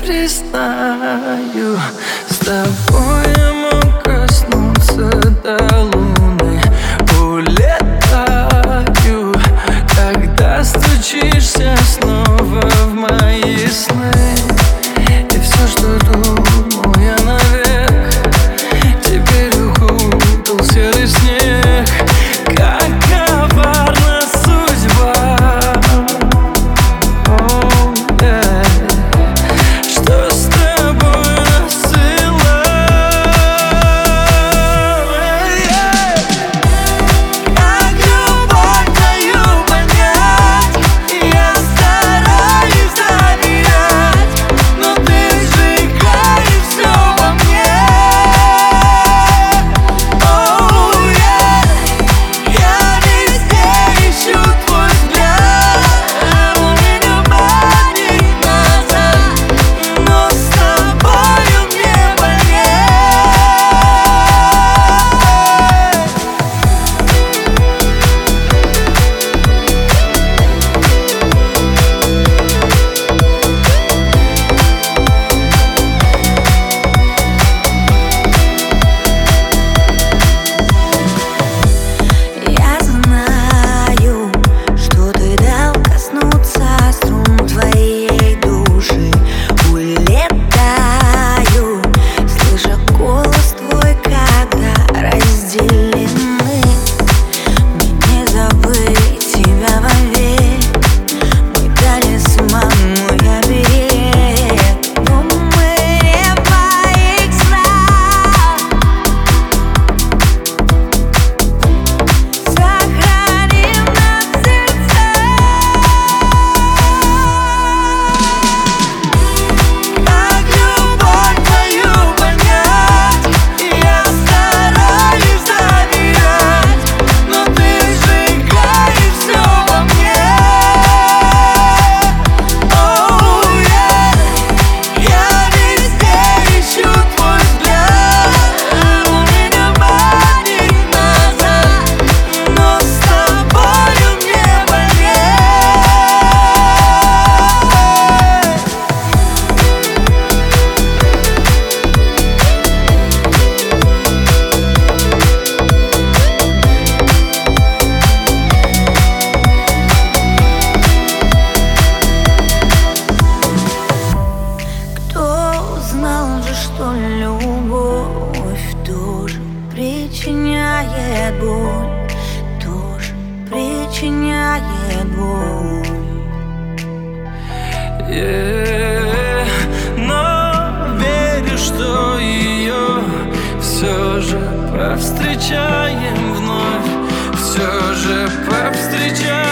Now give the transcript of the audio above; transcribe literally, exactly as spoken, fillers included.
признаю, с тобой я мог коснуться до луны. Улетаю, когда стучишься снова в мои сны. И все, что думал я навек, теперь укутал серый снег. Как коварна судьба, oh, yeah. Что с тобой насылала, yeah. Как любовь твою понять, я стараюсь доверять, но ты сжигаешь все во мне. Oh, yeah. Я везде ищу твой взгляд, он меня манит назад, но с тобою мне больнее. Я знаю, что ты дал коснуться струн твоей души. Улетаю, слыша голос твой, когда разделены. Мне не забыть тебя вовек, мой талисман, мой оберег. Но мы не в моих снах. Сохраним нас в сердцах. Как любовь твою понять, я стараюсь доверять, но ты сжигаешь все во мне. Oh, yeah. Я везде ищу твой взгляд, он меня манит назад, но с тобою мне больнее. Кто знал же, что любовь тоже причиняет боль, тоже причиняет боль. Yeah. Но верю, что ее все же повстречаем вновь, все же повстречаем.